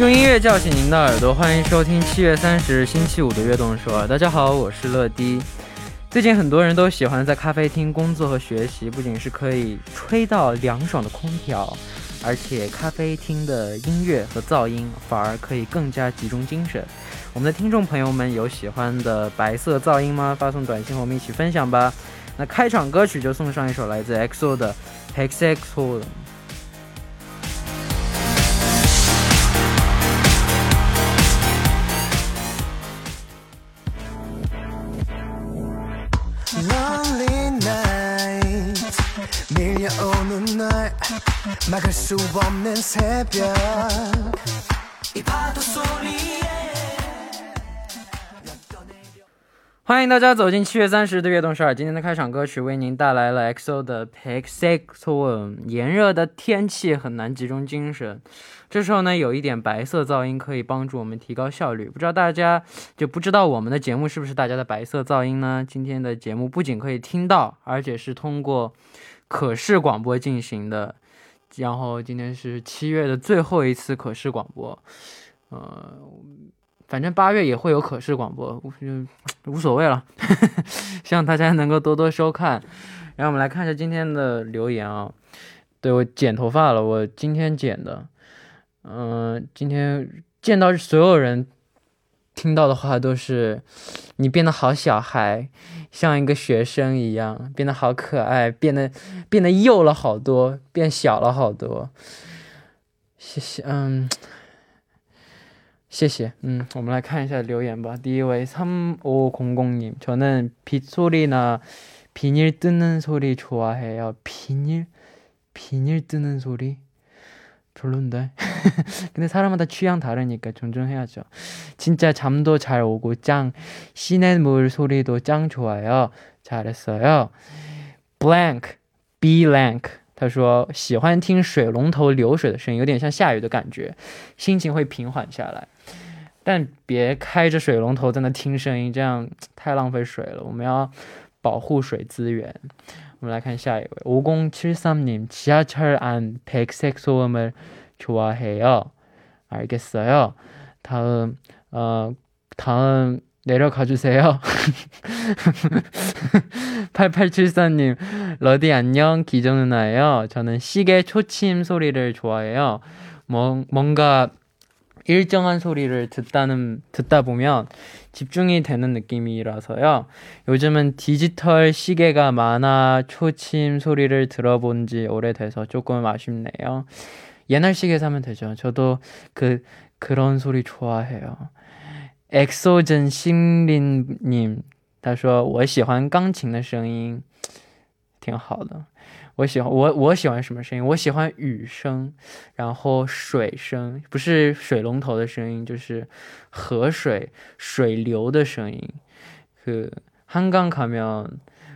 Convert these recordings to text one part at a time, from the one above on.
用音乐叫醒您的耳朵，欢迎收听7月30日星期五的悦动首尔。大家好，我是乐迪。最近很多人都喜欢在咖啡厅工作和学习，不仅是可以吹到凉爽的空调，而且咖啡厅的音乐和噪音反而可以更加集中精神。我们的听众朋友们有喜欢的白色噪音吗？发送短信和我们一起分享吧。那开场歌曲就送上一首来自 EXO 的 백색소음。欢迎大家走进7月30日的悦动首尔。今天的开场歌曲为您带来了 EXO 的 백색소음。 炎热的天气很难集中精神，这时候呢有一点白色噪音可以帮助我们提高效率。不知道我们的节目是不是大家的白色噪音呢？今天的节目不仅可以听到，而且是通过可视广播进行的。然后今天是7月的最后一次可视广播，反正8月也会有可视广播，无所谓了。希望大家能够多多收看。然后我们来看一下今天的留言啊。对，我剪头发了，我今天剪的。今天见到所有人听到的话都是你变得好小孩，像一个学生一样，变得好可爱，变得幼了好多，变小了好多。谢谢，谢谢。我们来看一下留言吧。第一位 3500님， 저는 빗소리나 비닐 뜯는 소리 좋아해요. 비닐 뜯는 소리 별론데. 근데 사람마다 취향 다르니까 존중해야죠. 진짜 잠도 잘 오고 짱. 시냇물 소리도 짱 좋아요. 잘했어요. blank blank 他说喜欢听水龙头流水的声音，有点像下雨的感觉，心情会平缓下来。但别开着水龙头在那听声音，这样太浪费水了，我们要保护水资源。我们来看下一位 5073님 지하철 안 백색 소음을 좋아해요. 알겠어요. 다음 내려가 주세요. 8874님 러디 안녕, 기정 누나예요. 저는 시계 초침 소리를 좋아해요. 뭔가 일정한 소리를 듣다 보면 집중이 되는 느낌이라서요. 요즘은 디지털 시계가 많아 초침 소리를 들어본 지 오래돼서 조금 아쉽네요. 옛날 시계 사면 되죠. 저도 그런 소리 좋아해요. 엑소전 신린님 他说我喜欢钢琴的声音，挺好的。我喜欢什么声音？我喜欢雨声，然后水声，不是水龙头的声音，就是河水水流的声音。한강 가면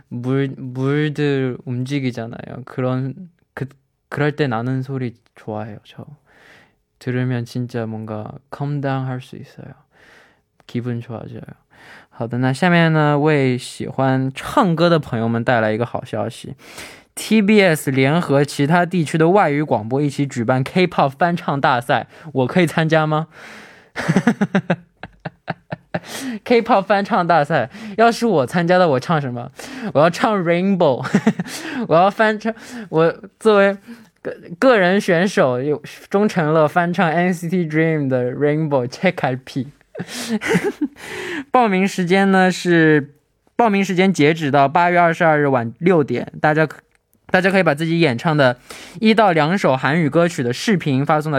물들 움직이잖아요. 그럴 때 나는 소리 좋아해요. 저 들으면 진짜 뭔가 calm down 할 수 있어요. 기분 좋아져요. 好的，那下面呢，为喜欢唱歌的朋友们带来一个好消息。TBS 联合其他地区的外语广播一起举办 K-pop 翻唱大赛，我可以参加吗？K-pop 翻唱大赛，要是我参加的，我唱什么？我要唱 Rainbow。 我要翻唱，我作为个人选手钟成乐翻唱 NCT Dream 的 Rainbow 책갈피。 报名时间截止到8月22日晚6点，大家可以把自己演唱的1到2首韩语歌曲的视频发送到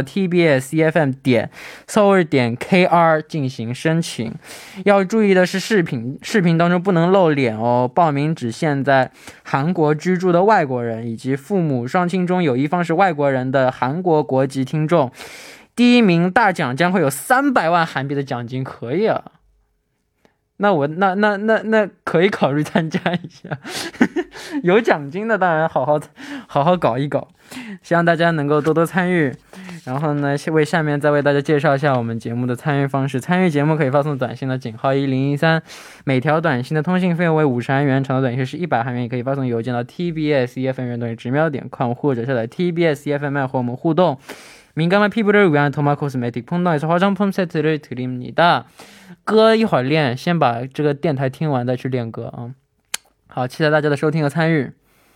tbscfm.seoul.kr 进行申请。要注意的是视频当中不能露脸哦。报名只限在韩国居住的外国人以及父母双亲中有一方是外国人的韩国国籍听众。第一名大奖将会有300万韩币的奖金，可以啊。那可以考虑参加一下。有奖金的当然好好搞一搞，希望大家能够多多参与。然后呢，下面再为大家介绍一下我们节目的参与方式。参与节目可以发送短信的井号1013，每条短信的通信费用为50韩元，长的短信是100韩元，也可以发送邮件到 tbsefm@gmail.com 或者下载 tbsefm 和我们互动。 민감한 피부를 위한 더마 코스메틱 폰너에서 화장품 세트를 드립니다. 歌一会儿练，先把这个电台听完再去练歌啊。好，期待大家的收听和参与。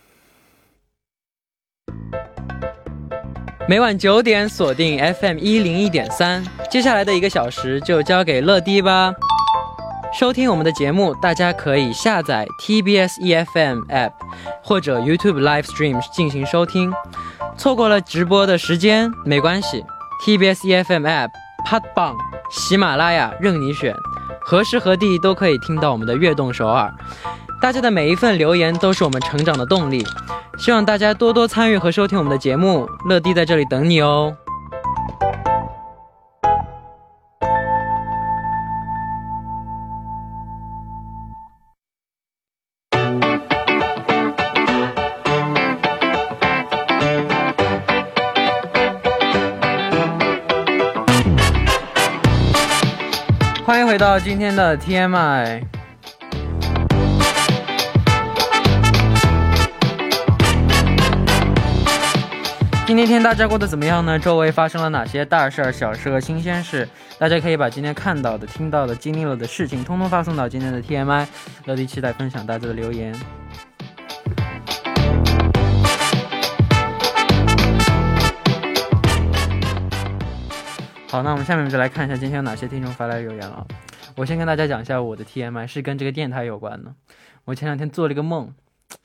每晚9点锁定 FM 101.3，接下来的1个小时就交给乐迪吧。收听我们的节目，大家可以下载 TBS EFM App 或者 YouTube Live Stream 进行收听。错过了直播的时间没关系， TBS EFM App、Podbbang、喜马拉雅任你选，何时何地都可以听到我们的悦动首尔。大家的每一份留言都是我们成长的动力，希望大家多多参与和收听我们的节目，乐迪在这里等你哦。欢迎回到今天的 TMI。今天天大家过得怎么样呢？周围发生了哪些大事、小事和新鲜事？大家可以把今天看到的、听到的、经历了的事情通通发送到今天的 TMI， 乐迪期待分享大家的留言。好，那我们下面就来看一下今天有哪些听众发来留言了。我先跟大家讲一下我的 TMI 是跟这个电台有关的。我前2天做了一个梦，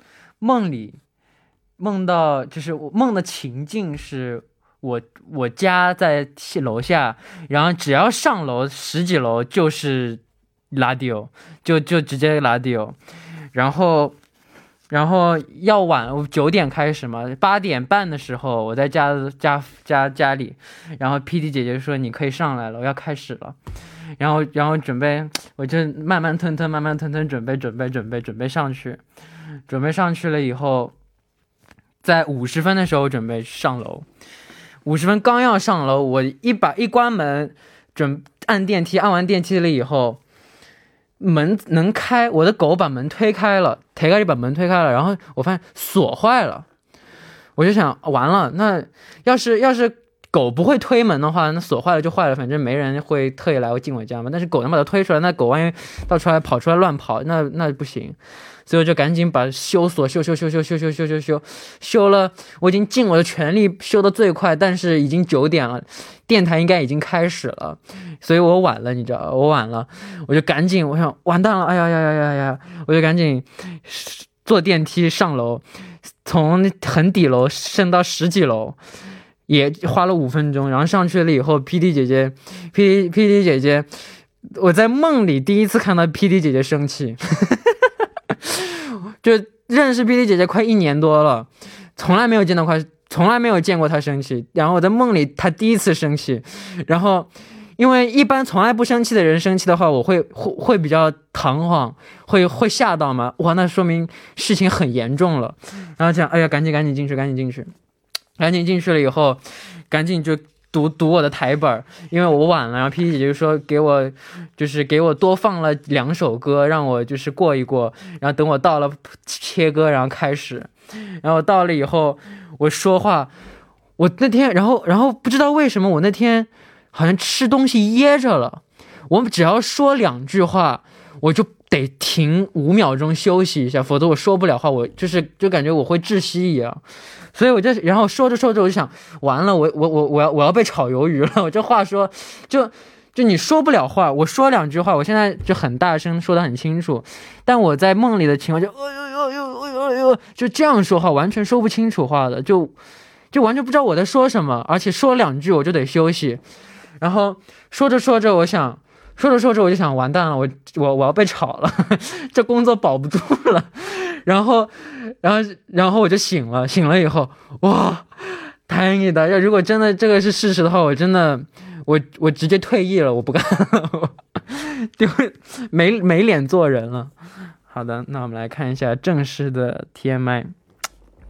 梦到就是我梦的情境是我家在楼下，然后只要上楼10几楼就是radio，就直接radio，然后要晚9点开始嘛，8点半的时候我在家里，然后 PD 姐姐说你可以上来了，我要开始了，然后准备，我就慢慢吞准备上去了以后，在50分的时候准备上楼，50分刚要上楼，我一关门，按电梯，按完电梯了以后，门能开，我的狗把门推开了，把门推开了，然后我发现锁坏了，我就想完了，那要是狗不会推门的话，那锁坏了就坏了，反正没人会特意来进我家嘛。但是狗能把它推出来，那狗万一到出来跑出来乱跑，那不行。所以我就赶紧把修锁修了，我已经尽我的全力修的最快，但是已经9点了，电台应该已经开始了，所以我晚了，你知道，我就赶紧，我想完蛋了，哎呀，我就赶紧坐电梯上楼，从很底楼升到10几楼。也花了5分钟，然后上去了以后 PD 姐姐，我在梦里第一次看到 PD 姐姐生气就认识 PD 姐姐快1年多了，从来没有见过她生气，然后我在梦里她第一次生气，然后因为一般从来不生气的人生气的话，我会比较彷徨，会吓到嘛，哇，那说明事情很严重了，然后讲哎呀赶紧进去了以后，赶紧就读我的台本，因为我晚了，然后 PD 姐姐就说给我多放了2首歌，让我就是过一过，然后等我到了切歌，然后开始，然后到了以后我说话，我那天然后不知道为什么我那天好像吃东西噎着了，我只要说2句话我就得停5秒钟休息一下，否则我说不了话，我就感觉我会窒息一样。所以我就然后说着我就想完了，我要被炒鱿鱼了，我这话说就你说不了话，我说2句话，我现在就很大声说得很清楚，但我在梦里的情况就这样说话，完全说不清楚话的，就完全不知道我在说什么，而且说2句我就得休息，然后说着我就想完蛋了，我要被炒了这工作保不住了，然后我就醒了以后，哇，太你的，要如果真的这个是事实的话，我真的我直接退役了，我不干了就没脸做人了。好的，那我们来看一下正式的 TMI。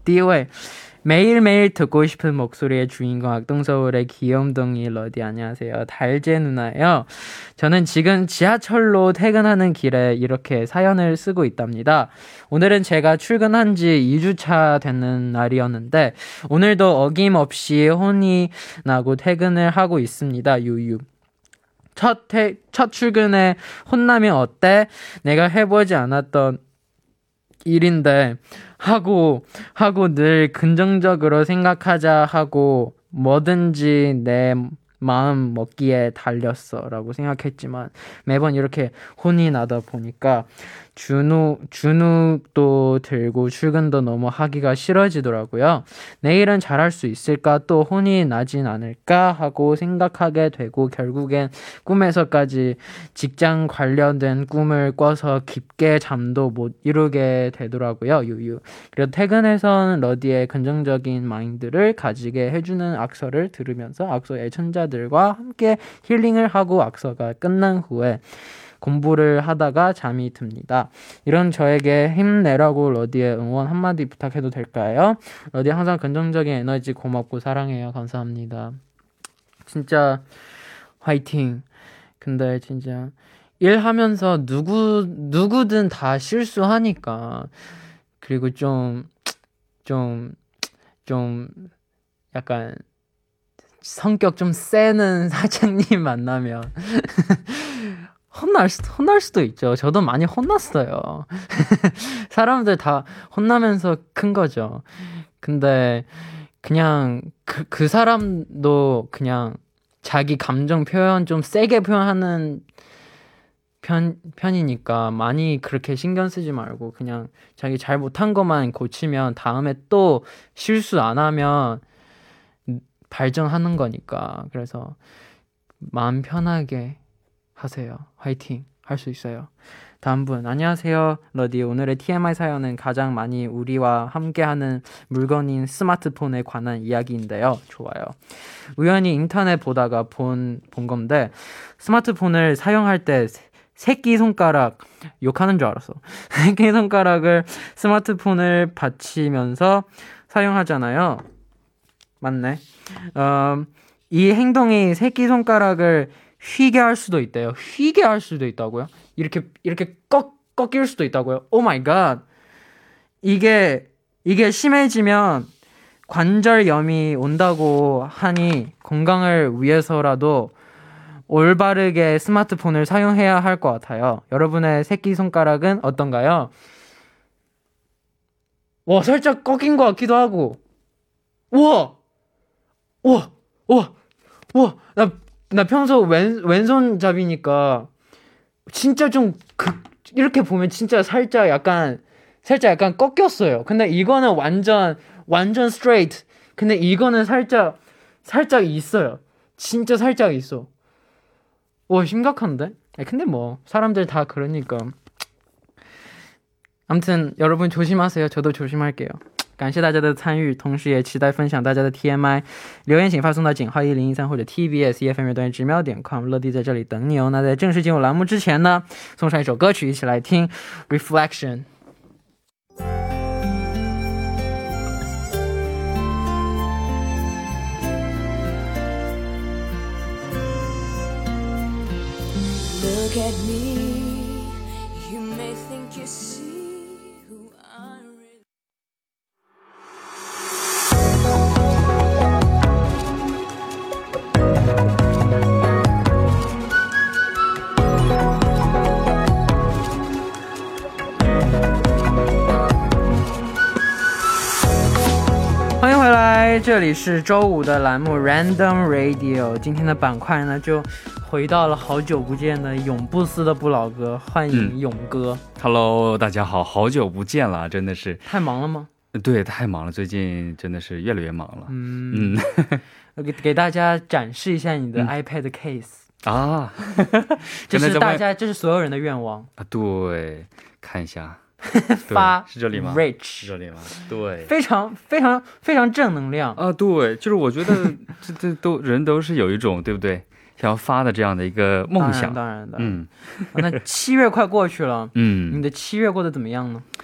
第一位 매일매일 듣고 싶은 목소리의 주인공 악동서울의 귀염둥이 러디 안녕하세요. 달재 누나예요. 저는 지금 지하철로 퇴근하는 길에 이렇게 사연을 쓰고 있답니다. 오늘은 제가 출근한 지 2주차 되는 날이었는데 오늘도 어김없이 혼이 나고 퇴근을 하고 있습니다. 유유. 첫 출근에 혼나면 어때? 내가 해보지 않았던 일인데 하고 늘 긍정적으로 생각하자 하고 뭐든지 내 마음 먹기에 달렸어 라고 생각했지만 매번 이렇게 혼이 나다 보니까 주눅도 들고 출근도 너무 하기가 싫어지더라고요. 내일은 잘할 수 있을까 또 혼이 나진 않을까 하고 생각하게 되고 결국엔 꿈에서까지 직장 관련된 꿈을 꿔서 깊게 잠도 못 이루게 되더라고요. 유유. 그리고 퇴근해선 러디의 긍정적인 마인드를 가지게 해주는 악서를 들으면서 악서 애청자들과 함께 힐링을 하고 악서가 끝난 후에 공부를 하다가 잠이 듭니다. 이런 저에게 힘내라고 러디의 응원 한마디 부탁해도 될까요? 러디 항상 긍정적인 에너지 고맙고 사랑해요. 감사합니다. 진짜 화이팅. 근데 진짜 일하면서 누구든 다 실수하니까 그리고 좀 약간 성격 좀 세는 사장님 만나면 혼날 수도 있죠. 저도 많이 혼났어요. 사람들 다 혼나면서 큰 거죠. 근데 그냥 그 사람도 그냥 자기 감정 표현 좀 세게 표현하는 편이니까 많이 그렇게 신경 쓰지 말고 그냥 자기 잘 못한 것만 고치면 다음에 또 실수 안 하면 발전하는 거니까. 그래서 마음 편하게 하세요. 화이팅 할 수 있어요. 다음 분 안녕하세요. 러디 오늘의 TMI 사연은 가장 많이 우리와 함께하는 물건인 스마트폰에 관한 이야기인데요. 좋아요. 우연히 인터넷 보다가 본 건데 스마트폰을 사용할 때 새끼손가락 욕하는 줄 알았어. 새끼손가락을 스마트폰을 받치면서 사용하잖아요. 맞네. 이 행동이 새끼손가락을 휘게 할 수도 있대요. 휘게 할 수도 있다고요? 이렇게 꺾일 수도 있다고요? 오 마이 갓. 이게 심해지면 관절염이 온다고 하니 건강을 위해서라도 올바르게 스마트폰을 사용해야 할 것 같아요. 여러분의 새끼손가락은 어떤가요? 와, 살짝 꺾인 것 같기도 하고. 우와! 나 평소 왼손잡이니까 진짜 좀 이렇게 보면 진짜 살짝 약간 꺾였어요. 근데 이거는 완전 스트레이트. 근데 이거는 살짝 있어요. 진짜 살짝 있어. 와, 심각한데? 근데 뭐 사람들 다 그러니까. 아무튼 여러분 조심하세요. 저도 조심할게요.感谢大家的参与，同时也期待分享大家的 TMI 留言，请发送到井号1013或者 TBS EFM 乐段直瞄点 com， 乐迪在这里等你哦。那在正式进入栏目之前呢，送上一首歌曲，一起来听 Reflection。 Look at me, you may think you see欢迎回来，这里是周五的栏目 Random Radio。 今天的板块呢就回到了好久不见的永不死的不老歌，欢迎勇哥。 Hello， 大家好，好久不见了，真的是太忙了吗？ 对，太忙了，最近真的是越来越忙了。 给大家展示一下你的 iPad case 啊， 这是大家，这是所有人的愿望啊。对，看一下。 发是这里吗 ？Rich 是这里吗？对， 非常正能量啊！对，就是我觉得这人都是有一种对不对，想要发的这样的一个梦想。 当然。那7月快过去了，你的7月过得怎么样呢？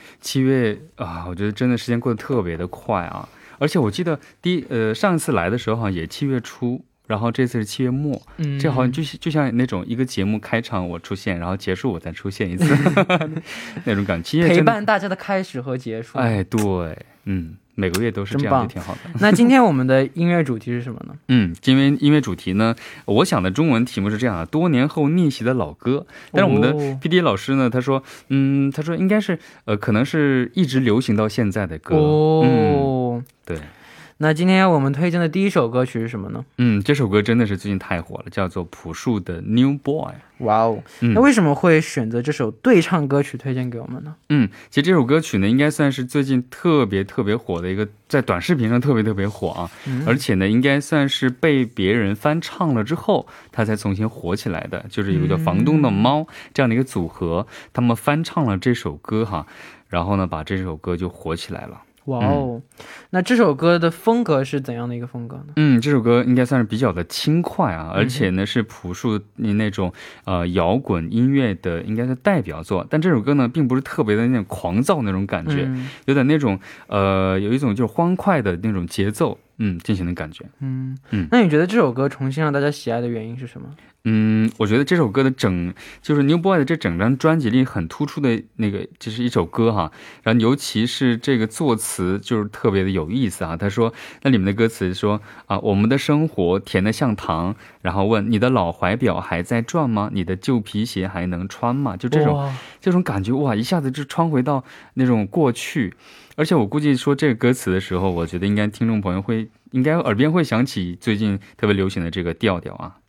7月啊，我觉得真的时间过得特别的快啊，而且我记得上一次来的时候好像也7月初，然后这次是7月末，这好像就像那种一个节目开场我出现，然后结束我再出现一次那种感觉， 陪伴大家的开始和结束。 哎，对，每个月都是这样，就挺好的。 那今天我们的音乐主题是什么呢？ 今天音乐主题呢，我想的中文题目是这样的：多年后逆袭的老歌。但是我们的 PD 老师呢，他说应该是可能是一直流行到现在的歌。对。 那今天我们推荐的第一首歌曲是什么呢？ 这首歌真的是最近太火了，叫做朴树的 New Boy。 哇哦，那为什么会选择这首对唱歌曲推荐给我们呢？ 其实这首歌曲呢应该算是最近特别火的一个，在短视频上特别火啊，而且呢应该算是被别人翻唱了之后它才重新火起来的，就是有一个叫房东的猫这样的一个组合，他们翻唱了这首歌哈，然后呢把这首歌就火起来了。 哇哦，那这首歌的风格是怎样的一个风格呢？ 这首歌应该算是比较的轻快啊，而且呢是朴树那种摇滚音乐的应该是代表作，但这首歌呢并不是特别的那种狂躁那种感觉，有点那种有一种就是欢快的那种节奏进行的感觉。 那你觉得这首歌重新让大家喜爱的原因是什么？ 我觉得这首歌的就是 New Boy 的这整张专辑里很突出的那个就是一首歌哈，然后尤其是这个作词就是特别的有意思啊。他说那里面的歌词说我们的生活甜得像糖，然后问你的老怀表还在转吗？你的旧皮鞋还能穿吗？就这种感觉哇，一下子就穿回到那种过去。而且我估计说这个歌词的时候，我觉得应该听众朋友应该耳边会响起最近特别流行的这个调调啊。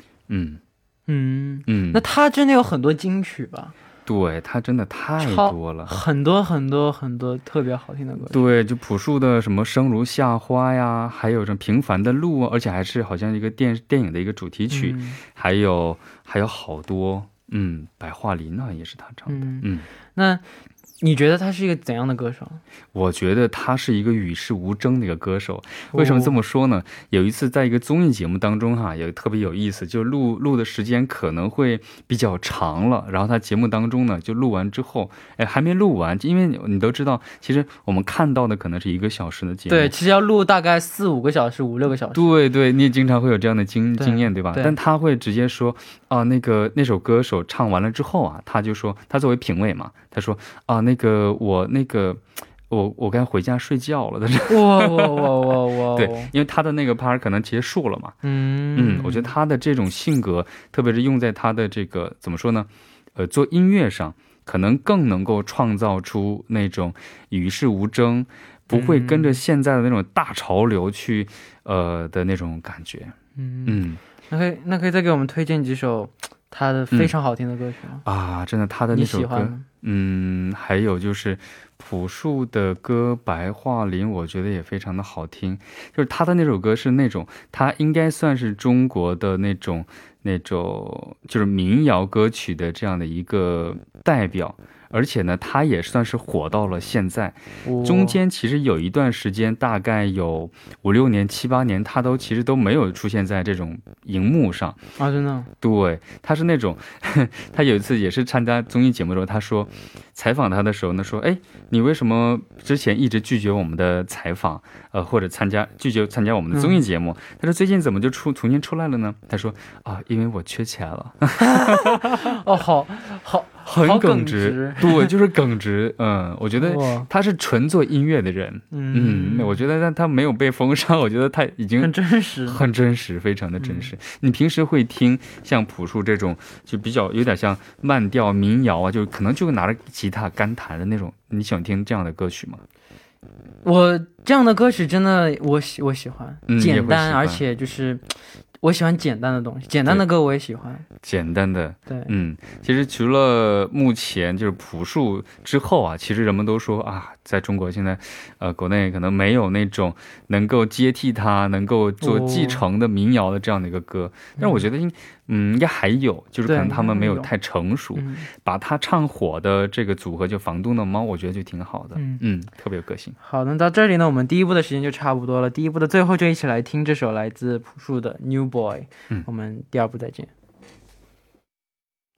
那他真的有很多金曲吧？ 对，他真的太多了， 很多特别好听的歌曲。 对，就朴树的什么生如夏花呀，还有什么平凡的路啊，而且还是好像一个电影的一个主题曲，还有好多白桦林啊也是他唱的。 那你觉得他是一个怎样的歌手？ 我觉得他是一个与世无争的一个歌手。为什么这么说呢？有一次在一个综艺节目当中哈，也特别有意思，就录的时间可能会比较长了，然后他节目当中呢就录完之后还没录完，因为你都知道其实我们看到的可能是1个小时的节目， 对，其实要录大概4-5个小时5-6个小时。 对，你也经常会有这样的经验对吧？但他会直接说那首歌手唱完了之后啊，他就说他作为评委嘛，他说我该回家睡觉了。哇！对，因为他的那个 part 可能结束了嘛。我觉得他的这种性格，特别是用在他的这个怎么说呢？做音乐上，可能更能够创造出那种与世无争，不会跟着现在的那种大潮流去的那种感觉。 那可以再给我们推荐几首他的非常好听的歌曲吗？ 真的他的那首歌你喜欢还有就是朴树的歌《白桦林》，我觉得也非常的好听。就是他的那首歌是那种他应该算是中国的那种就是民谣歌曲的这样的一个代表，而且呢他也算是火到了现在。中间其实有一段时间大概有5-6年7-8年他其实都没有出现在这种荧幕上真的。 对，他是那种他有一次也是参加综艺节目的时候，他说采访他的时候呢说你为什么之前一直拒绝我们的采访或者拒绝参加我们的综艺节目，他说最近怎么就重新出来了呢？他说因为我缺钱了。很耿直。对，就是耿直。我觉得他是纯做音乐的人。我觉得他没有被封杀，我觉得他已经很真实，非常的真实。你平时会听像朴树这种就比较有点像慢调民谣啊，就可能就拿着吉他干弹的那种，你喜欢听这样的歌曲吗？ 我这样的歌曲真的我喜欢，简单，而且就是我喜欢简单的东西，简单的歌我也喜欢。简单的，对，其实除了目前就是朴树之后啊，其实人们都说在中国现在国内可能没有那种能够接替他能够做继承的民谣的这样的一个歌，但是我觉得应该还有，就是可能他们没有太成熟，把他唱火的这个组合就房东的猫，我觉得就挺好的。特别有个性。好，那到这里呢，我们第一部的时间就差不多了，第一部的最后就一起来听这首来自朴树的 New Boy。我们第二部再见。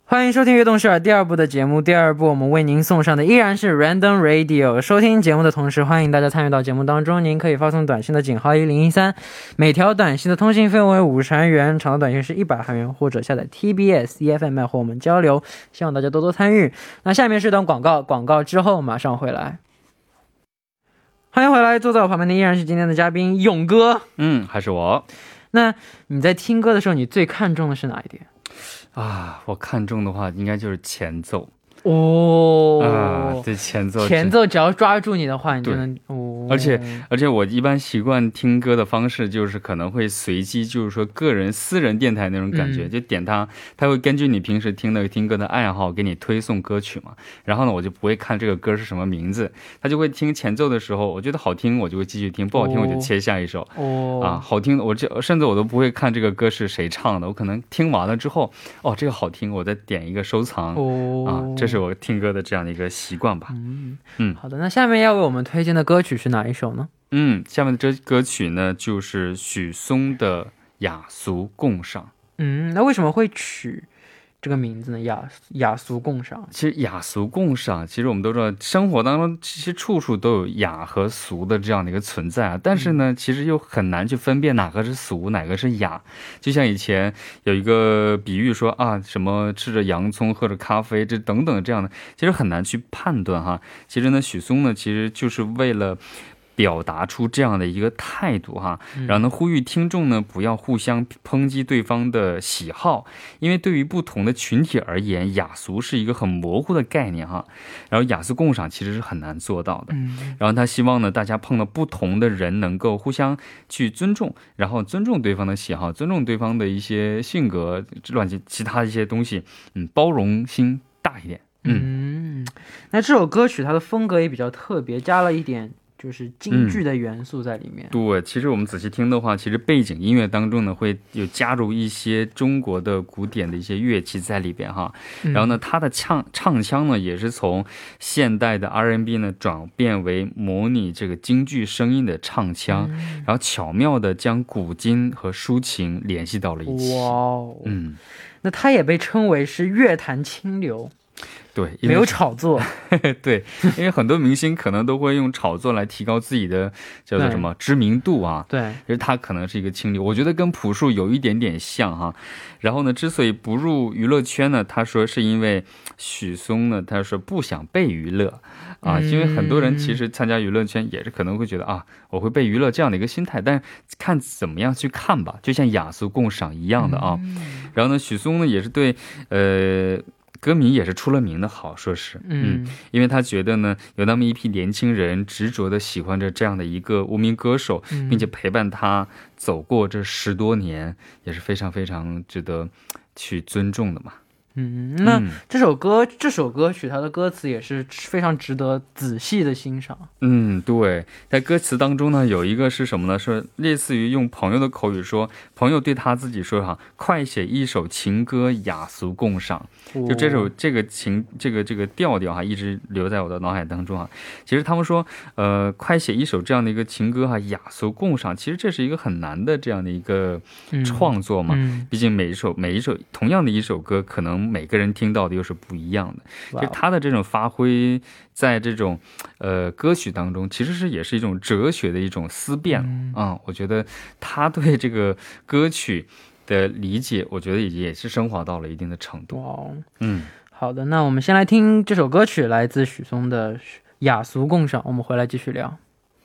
欢迎收听《悦动首尔》第二部的节目。第二部我们为您送上的依然是 Random Radio。收听节目的同时，欢迎大家参与到节目当中。您可以发送短信的井号1013，每条短信的通信费用为50韩元，长的短信是100韩元，或者下载 TBS EFM 和我们交流。希望大家多多参与。那下面是段广告，广告之后马上回来。欢迎回来，坐在我旁边的依然是今天的嘉宾勇哥。 还是我。 那你在听歌的时候，你最看重的是哪一点？ 我看重的话应该就是前奏。对，前奏只要抓住你的话，你就能而且我一般习惯听歌的方式就是可能会随机，就是说个人私人电台那种感觉，就点它会根据你平时听歌的爱好给你推送歌曲嘛。然后呢，我就不会看这个歌是什么名字，他就会听前奏的时候，我觉得好听我就会继续听，不好听我就切下一首。好听甚至我都不会看这个歌是谁唱的，我可能听完了之后，这个好听，我再点一个收藏。这是我听歌的这样的一个习惯吧。 好的，那下面要为我们推荐的歌曲是哪一首呢？ 下面的这歌曲呢就是许嵩的《雅俗共赏》。 那为什么会取这个名字呢？雅俗共赏。 其实雅俗共赏，其实我们都知道，生活当中其实处处都有雅和俗的这样的一个存在啊。但是呢，其实又很难去分辨哪个是俗，哪个是雅。就像以前有一个比喻说什么吃着洋葱喝着咖啡，这等等这样的，其实很难去判断哈。其实呢，许嵩呢，其实就是为了表达出这样的一个态度哈，然后呢，呼吁听众呢不要互相抨击对方的喜好，因为对于不同的群体而言，雅俗是一个很模糊的概念哈。然后雅俗共赏其实是很难做到的。然后他希望呢，大家碰到不同的人能够互相去尊重，然后尊重对方的喜好，尊重对方的一些性格，其他一些东西，包容心大一点。 那这首歌曲它的风格也比较特别，加了一点就是京剧的元素在里面。对， 其实我们仔细听的话，其实背景音乐当中呢会有加入一些中国的古典的一些乐器在里边哈。然后呢，它的唱腔呢也是从现代的 R&B 呢转变为模拟这个京剧声音的唱腔，然后巧妙的将古今和抒情联系到了一起。那它也被称为是乐坛清流。对，没有炒作。对，因为很多明星可能都会用炒作来提高自己的叫做什么知名度啊。对，其实他可能是一个清流，我觉得跟朴树有一点点像哈。然后呢，之所以不入娱乐圈呢，他说是因为许嵩呢，他说不想被娱乐因为很多人其实参加娱乐圈也是可能会觉得我会被娱乐这样的一个心态，但是看怎么样去看吧，就像雅俗共赏一样的啊。然后呢，许嵩呢也是对歌迷也是出了名的好，说是因为他觉得呢，有那么一批年轻人执着的喜欢着这样的一个无名歌手，并且陪伴他走过这10多年，也是非常非常值得去尊重的嘛。那这首歌曲它的歌词也是非常值得仔细的欣赏。对，在歌词当中呢，有一个是什么呢？是类似于用朋友的口语说，朋友对他自己说快写一首情歌，雅俗共赏。就这个调调一直留在我的脑海当中其实他们说快写一首这样的一个情歌雅俗共赏，其实这是一个很难的这样的一个创作嘛。毕竟每一首同样的一首歌，可能每个人听到的又是不一样的。就他的这种发挥在这种歌曲当中，其实也是一种哲学的一种思辨我觉得他对这个歌曲的理解，我觉得也是升华到了一定的程度。好的，那我们先来听这首歌曲，来自许嵩的《雅俗共赏》，我们回来继续聊。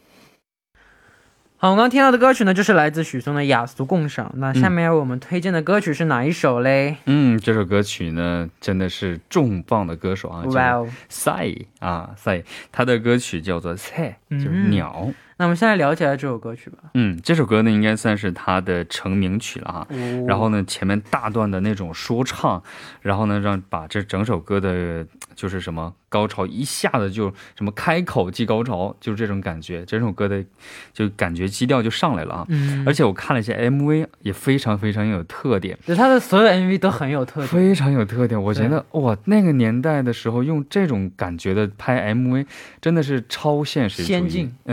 好，我刚刚听到的歌曲呢，就是来自许嵩的《雅俗共赏》。那下面为我们推荐的歌曲是哪一首嘞？这首歌曲呢，真的是重磅的歌手Psy 他的歌曲叫做菜，就是鸟。那我们现在聊起来这首歌曲吧。这首歌呢，应该算是他的成名曲了然后呢，前面大段的那种说唱，然后呢，把这整首歌的就是什么高潮一下子就什么开口即高潮，就是这种感觉，整首歌的就感觉基调就上来了而且我看了一下 MV 也非常非常有特点，对，他的所有 MV 都很有特点，非常有特点。我觉得哇，那个年代的时候用这种感觉的拍 MV 真的是超现实主义，先进，太先进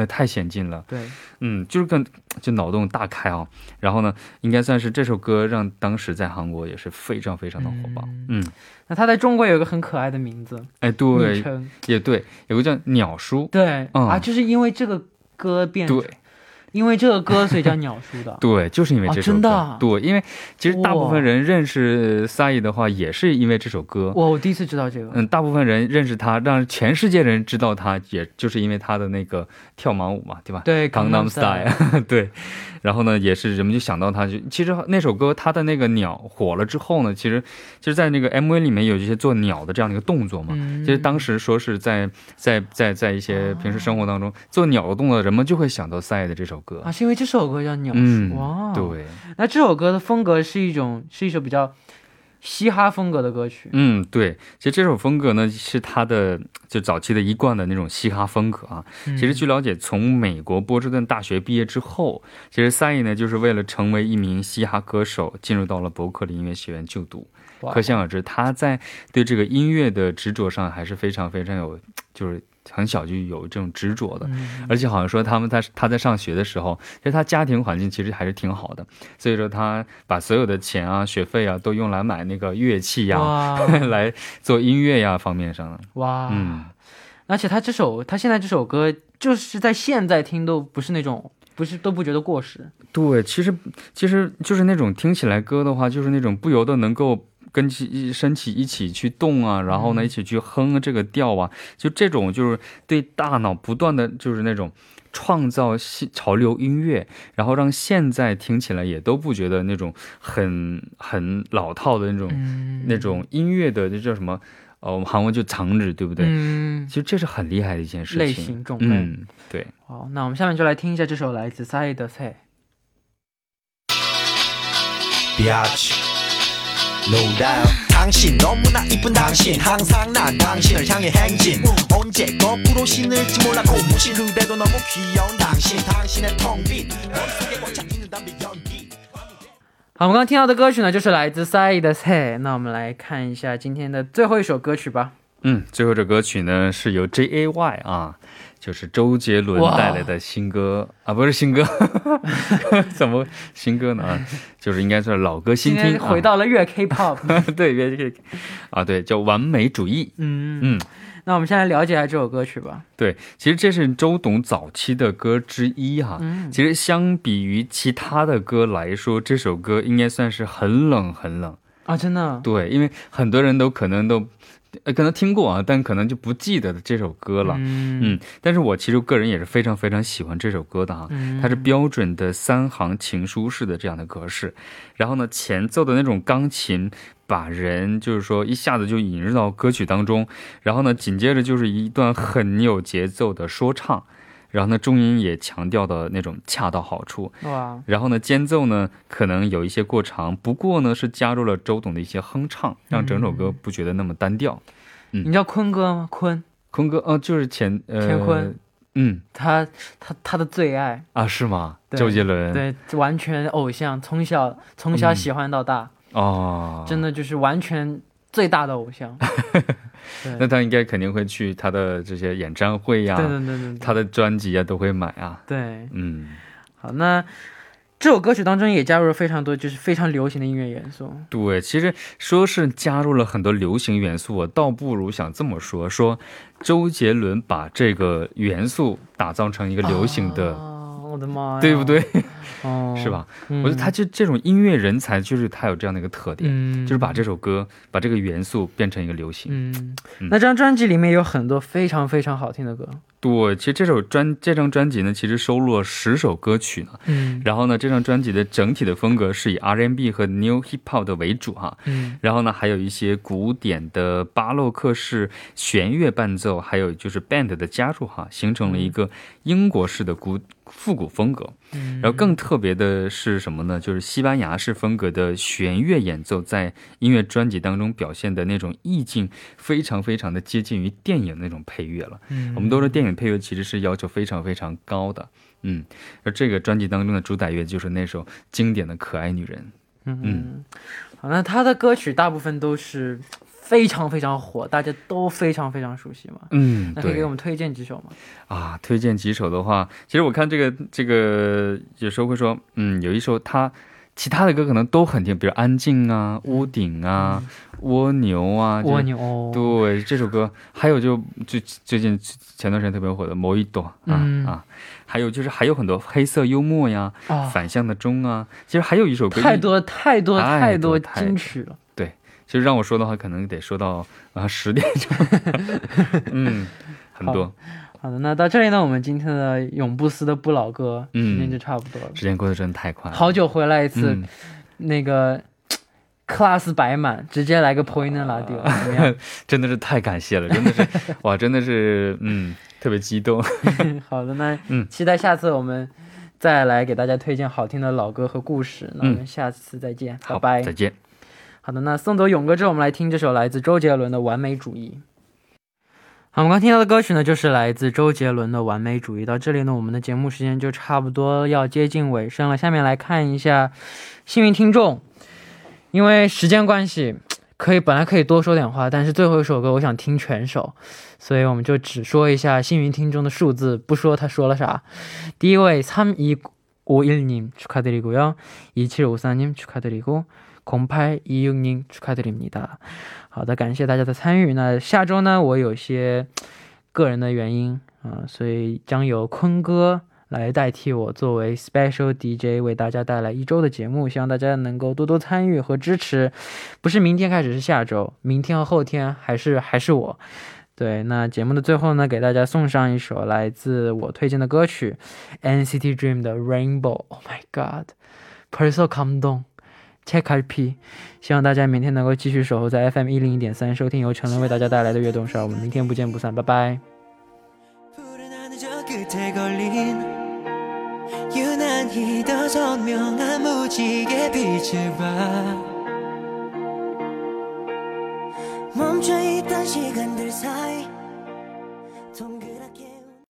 前进了。 对， 就是就脑洞大开啊。然后呢，应该算是这首歌让当时在韩国也是非常非常的火爆。 那他在中国有一个很可爱的名字， 哎， 昵对， 称， 也对，有个叫鸟叔。 对，就是因为这个歌变成， 对， 因为这个歌所以叫鸟叔的。 对，就是因为这首歌。 真的啊？ 对，因为其实大部分人认识 Psy 的话，也是因为这首歌。 我第一次知道这个。 大部分人认识他，让全世界人知道他，也就是因为他的那个跳马舞嘛，对吧？ 对， Gangnam Style 对，然后呢，也是人们就想到他，其实那首歌他的那个鸟火了之后呢，其实就是在那个 MV 里面有一些做鸟的这样的一个动作嘛。其实当时说是在一些平时生活当中做鸟的动作，人们就会想到 Psy 的这首歌。 是因为这首歌叫鸟叔。哇， 对。 那这首歌的风格是一首比较嘻哈风格的歌曲。 对，其实这首风格呢是他的就早期的一贯的那种嘻哈风格啊。其实据了解，从美国波士顿大学毕业之后，其实 Psy 呢就是为了成为一名嘻哈歌手，进入到了伯克利音乐学院就读。可想而知，他在对这个音乐的执着上还是非常非常有，就是很小就有这种执着的。而且好像说他在上学的时候，其实他家庭环境其实还是挺好的，所以说他把所有的钱啊、学费啊都用来买那个乐器呀，来做音乐呀方面上。 哇，而且他现在这首歌就是在现在听都不是那种都不觉得过时。对， 其实就是那种听起来歌的话，就是那种不由得能够跟身体一起去动啊，然后呢一起去哼这个调啊，就这种就是对大脑不断的就是那种创造潮流音乐，然后让现在听起来也都不觉得那种很老套的那种音乐的，这叫什么？韩文就장르，对不对？其实这是很厉害的一件事情。类型种类。对。 好，那我们下面就来听一下这首来自 Psy的 Say。 No doubt 당신 너무나 이쁜 당신 항상 난 당신을 향해 행진 언제 거꾸로 신을지 몰라 고무신 그래도 너무 귀여운 당신 당신의 텅빈 머릿속에 꽉 차 있는 담배 연기。 好，我们刚刚听到的歌曲呢就是来自 Psy的 Say。 那我们来看一下今天的最后一首歌曲吧。 最后这歌曲呢是由 JAY 啊，就是周杰伦带来的新歌啊，不是新歌怎么新歌呢？就是应该是老歌新听， 回到了粤 K-pop 对，粤 K 啊，对，叫完美主义。 那我们先来了解一下这首歌曲吧。 对，其实这是周董早期的歌之一哈。其实相比于其他的歌来说，这首歌应该算是很冷很冷啊，真的。 对，因为很多人都可能听过啊，但可能就不记得这首歌了。但是我其实个人也是非常非常喜欢这首歌的哈。它是标准的3行情书式的这样的格式，然后呢前奏的那种钢琴把人就是说一下子就引入到歌曲当中，然后呢紧接着就是一段很有节奏的说唱，然后呢中音也强调的那种恰到好处。然后呢间奏呢可能有一些过长，不过呢是加入了周董的一些哼唱，让整首歌不觉得那么单调。 你知道坤哥吗？坤哥就是田坤。 他的最爱啊，是吗？周杰伦。 对，完全偶像，从小喜欢到大。真的就是完全最大的偶像。 那他应该肯定会去他的这些演唱会呀，对，他的专辑啊都会买啊。 对，好，那这首歌曲当中也加入了非常多就是非常流行的音乐元素。 对，其实说是加入了很多流行元素，我倒不如想这么说周杰伦把这个元素打造成一个流行的， 我的妈呀， 对不对？是吧？我觉得他就这种音乐人才，就是他有这样的一个特点，就是把这首歌把这个元素变成一个流行。 那这张专辑里面有很多非常非常好听的歌。 对，其实这张专辑呢，其实收录了10首歌曲呢。然后呢，这张专辑的整体的风格是以 R&B 和 New Hip Hop 的为主哈。然后呢，还有一些古典的巴洛克式弦乐伴奏，还有就是 band 的加入哈，形成了一个英国式的复古风格。然后更特别的是什么呢？就是西班牙式风格的弦乐演奏在音乐专辑当中表现的那种意境，非常非常的接近于电影那种配乐了。我们都说电影配乐其实是要求非常非常高的。而这个专辑当中的主打乐就是那首经典的可爱女人。 好，那他的歌曲大部分都是非常非常火，大家都非常非常熟悉嘛。那可以给我们推荐几首吗？ 推荐几首的话，其实我看这个有时候会说，有一首他其他的歌可能都很听，比如安静啊、屋顶啊、蜗牛啊， 蜗牛， 对，这首歌还有就最近前段时间特别火的摩一朵还有就是还有很多黑色幽默呀、反向的钟啊，其实还有一首歌太多金曲了。 对，其实让我说的话可能得说到10点钟很多。 好的，那到这里呢，我们今天的永不死的不老歌时间就差不多了。 时间过得真的太快了， 好久回来一次，那个 class 摆满，直接来个 pointer radio， 怎么样？ 真的是太感谢了，真的是哇，真的是特别激动。 好的，那期待下次我们再来给大家推荐好听的老歌和故事。那我们下次再见，拜拜， 再见。 好的，那送走勇哥之后，我们来听这首来自周杰伦的《完美主义》。好，我们刚听到的歌曲呢，就是来自周杰伦的《完美主义》。到这里呢，我们的节目时间就差不多要接近尾声了。下面来看一下幸运听众，因为时间关系，本来可以多说点话，但是最后一首歌我想听全首，所以我们就只说一下幸运听众的数字，不说他说了啥。第一位 3251님 축하드리고요. 2754님 축하드리고 0826님 축하드립니다. 好的，感谢大家的参与。那下周呢，我有些个人的原因所以将由坤哥来代替我作为 special DJ 为大家带来一周的节目，希望大家能够多多参与和支持。不是明天开始，是下周，明天和后天还是我。对，那节目的最后呢，给大家送上一首来自我推荐的歌曲 NCT Dream 的 Rainbow。 Oh my god， 벌써 감동 채갈피。 希望大家明天能够继续守候在 FM 101.3收听由陈伦为大家带来的悦动少，我们明天不见不散，拜拜。 유난히 더 선명한 무지개 빛을 봐